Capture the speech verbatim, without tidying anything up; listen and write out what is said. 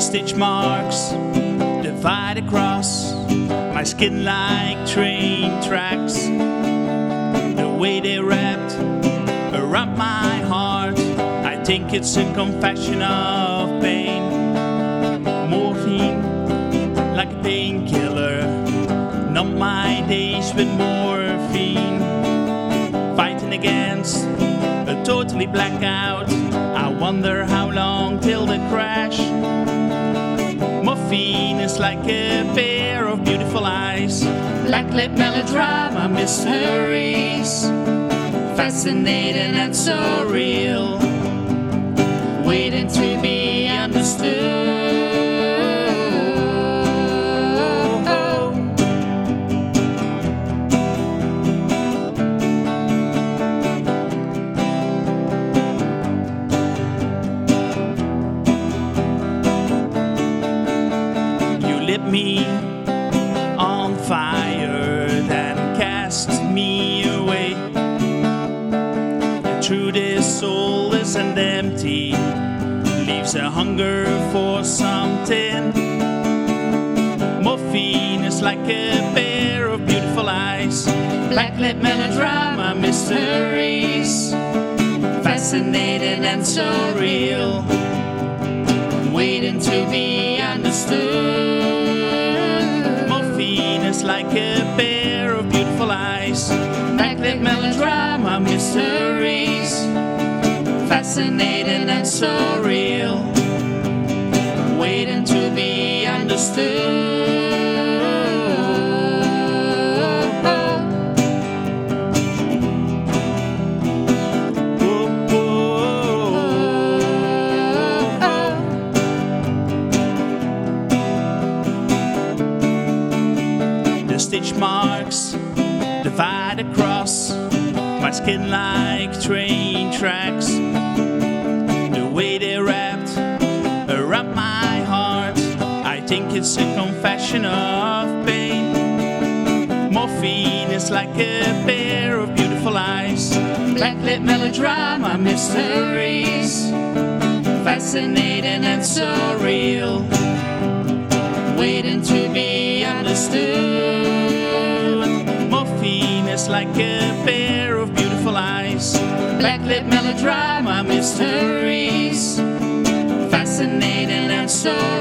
stitch marks divide across my skin like train tracks. The way they wrapped around my heart, I think it's a confession of pain. Morphine like a painkiller, numb my days with morphine. Fighting against a totally blackout, I wonder how long till the crash. Morphine is like a pair of beautiful eyes, blacklit melodrama mysteries, fascinating and so real, waiting to be understood. Lit me on fire, then cast me away. The truth is soulless and empty, leaves a hunger for something. Morphine is like a pair of beautiful eyes, blacklit melodrama mysteries, fascinating and so real, waiting to be understood. Morphine is like a pair of beautiful eyes, backlit melodrama mysteries, fascinating and so real, waiting to be understood. Stitch marks divide across my skin like train tracks. The way they wrapped around my heart, I think it's a confession of pain. Morphine is like a pair of beautiful eyes, blacklit melodrama mysteries, fascinating and so real, waiting to be understood. Morphine is like a pair of beautiful eyes, blacklit melodrama mysteries, fascinating and so